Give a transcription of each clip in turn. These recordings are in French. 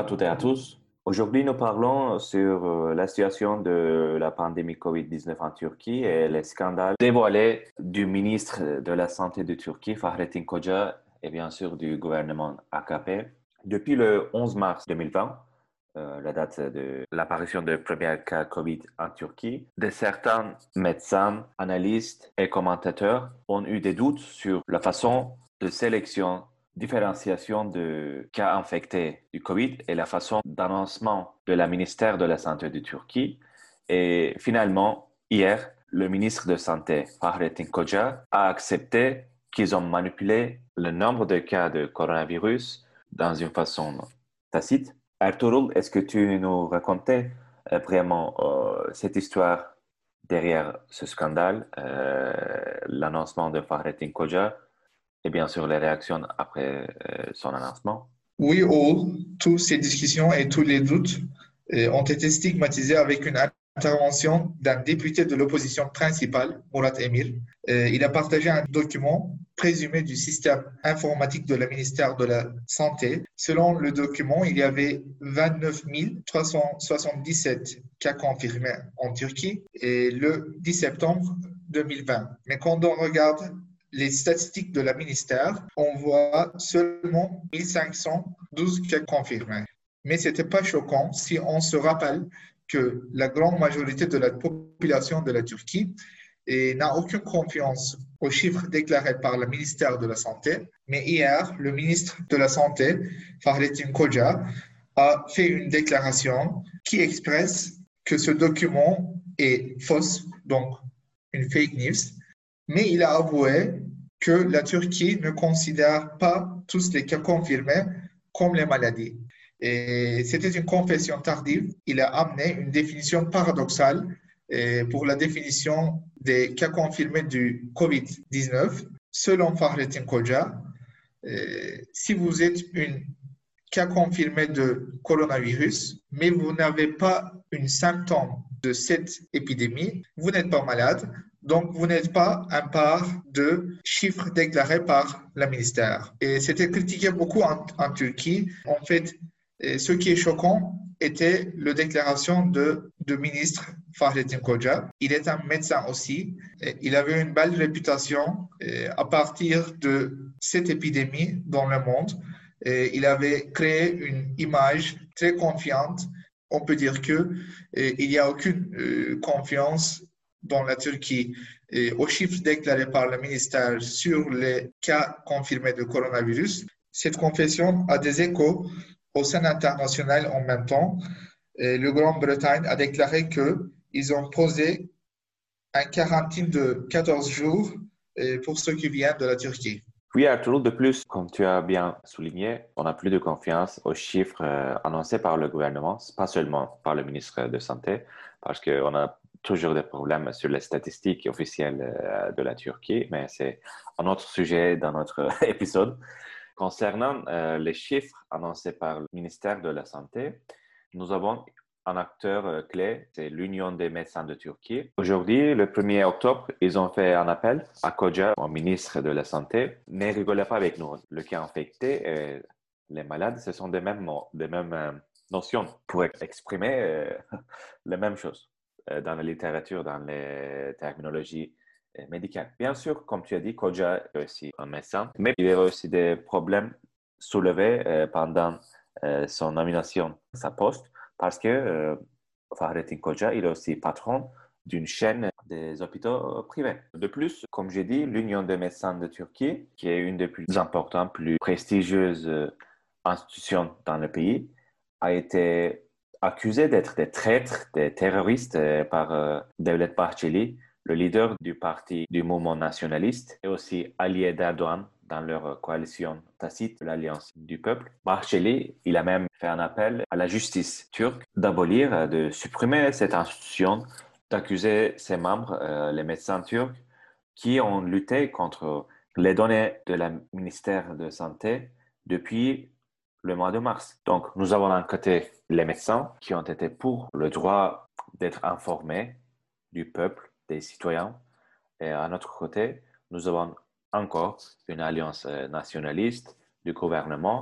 toutes et à tous. Aujourd'hui, nous parlons sur la situation de la pandémie COVID-19 en Turquie et les scandales dévoilés du ministre de la Santé de Turquie, Fahrettin Koca, et bien sûr du gouvernement AKP. Depuis le 11 mars 2020, la date de l'apparition de premier cas COVID en Turquie, certains médecins, analystes et commentateurs ont eu des doutes sur la façon de sélection différenciation de cas infectés du Covid et la façon d'annoncement de la ministère de la Santé de Turquie. Et finalement, hier, le ministre de Santé, Fahrettin Koca, a accepté qu'ils ont manipulé le nombre de cas de coronavirus dans une façon tacite. Ertuğrul, est-ce que tu nous racontais vraiment cette histoire derrière ce scandale, l'annoncement de Fahrettin Koca et bien sûr les réactions après son annoncement? Oui, toutes ces discussions et tous les doutes ont été stigmatisés avec une intervention d'un député de l'opposition principale, Murat Emir. Il a partagé un document présumé du système informatique de la ministère de la Santé. Selon le document, il y avait 29 377 cas confirmés en Turquie et le 10 septembre 2020. Mais quand on regarde les statistiques de la ministère, on voit seulement 1512 cas confirmés. Mais ce n'était pas choquant si on se rappelle que la grande majorité de la population de la Turquie n'a aucune confiance aux chiffres déclarés par le ministère de la Santé. Mais hier, le ministre de la Santé, Fahrettin Koca, a fait une déclaration qui expresse que ce document est fausse, donc une fake news. Mais il a avoué que la Turquie ne considère pas tous les cas confirmés comme les maladies. Et c'était une confession tardive. Il a amené une définition paradoxale pour la définition des cas confirmés du COVID-19. Selon Fahrettin Koca, si vous êtes un cas confirmé de coronavirus, mais vous n'avez pas un symptôme de cette épidémie, vous n'êtes pas malade. Donc, vous n'êtes pas un part de chiffres déclarés par le ministère. Et c'était critiqué beaucoup en Turquie. En fait, ce qui est choquant était la déclaration du ministre Fahrettin Koca. Il est un médecin aussi. Il avait une belle réputation à partir de cette épidémie dans le monde. Il avait créé une image très confiante. On peut dire qu'il n'y a aucune confiance dans la Turquie aux chiffres déclarés par le ministère sur les cas confirmés de coronavirus. Cette confession a des échos au sein international en même temps. Le Grande-Bretagne a déclaré qu'ils ont posé un quarantaine de 14 jours pour ceux qui viennent de la Turquie. Oui, Arturo, de plus, comme tu as bien souligné, on n'a plus de confiance aux chiffres annoncés par le gouvernement, pas seulement par le ministre de Santé, parce qu'on a toujours des problèmes sur les statistiques officielles de la Turquie, mais c'est un autre sujet dans notre épisode. Concernant les chiffres annoncés par le ministère de la Santé, nous avons un acteur clé, c'est l'Union des médecins de Turquie. Aujourd'hui, le 1er octobre, ils ont fait un appel à Koca, au ministre de la Santé. Ne rigolez pas avec nous. Le cas infecté et les malades, ce sont des mêmes notions pour exprimer les mêmes choses dans la littérature, dans les terminologies médicales. Bien sûr, comme tu as dit, Koca est aussi un médecin, mais il y a aussi des problèmes soulevés pendant son nomination à sa poste. Parce que Fahrettin Koca, il est aussi patron d'une chaîne des hôpitaux privés. De plus, comme j'ai dit, l'Union des médecins de Turquie, qui est une des plus importantes, plus prestigieuses institutions dans le pays, a été accusée d'être des traîtres, des terroristes par Devlet Bahçeli, le leader du parti du mouvement nationaliste, et aussi allié d'Erdogan dans leur coalition tacite, l'Alliance du peuple. Bahçeli, il a même fait un appel à la justice turque d'abolir, de supprimer cette institution, d'accuser ses membres, les médecins turcs, qui ont lutté contre les données de la ministère de Santé depuis le mois de mars. Donc, nous avons d'un côté les médecins qui ont été pour le droit d'être informés du peuple, des citoyens, et à notre côté, nous avons encore une alliance nationaliste du gouvernement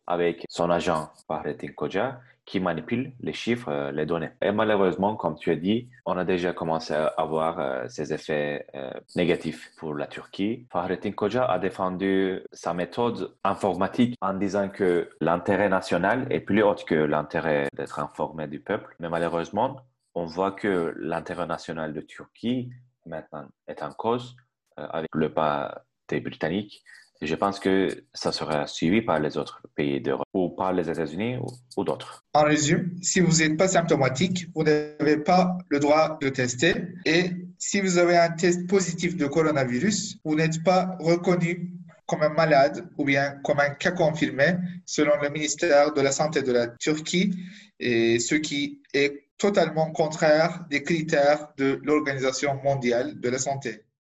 avec son agent Fahrettin Koca qui manipule les chiffres, les données. Et malheureusement, comme tu as dit, on a déjà commencé à avoir ces effets négatifs pour la Turquie. Fahrettin Koca a défendu sa méthode informatique en disant que l'intérêt national est plus haut que l'intérêt d'être informé du peuple. Mais malheureusement, on voit que l'intérêt national de Turquie maintenant est en cause avec le pas des Britanniques. Et je pense que ça sera suivi par les autres pays d'Europe ou par les États-Unis ou d'autres. En résumé, si vous n'êtes pas symptomatique, vous n'avez pas le droit de tester. Et si vous avez un test positif de coronavirus, vous n'êtes pas reconnu comme un malade ou bien comme un cas confirmé selon le ministère de la Santé de la Turquie, et ce qui est totalement contraire des critères de l'Organisation mondiale de la santé.